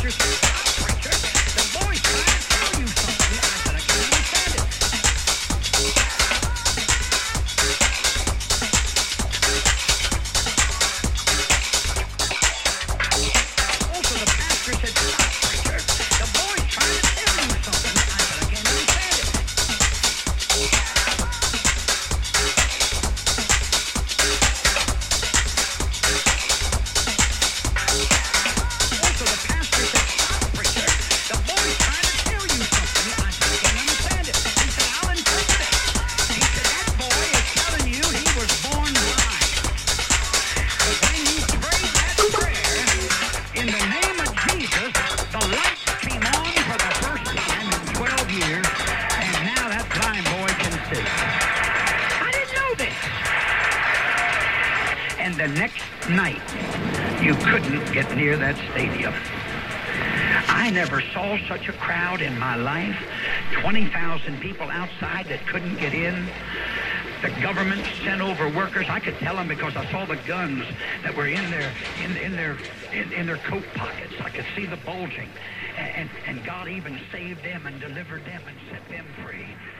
the next night, you couldn't get near that stadium. I never saw such a crowd in my life. 20,000 people outside that couldn't get in. The government sent over workers. I could tell them because I saw the guns that were in their coat pockets. I could see the bulging. And God even saved them and delivered them and set them free.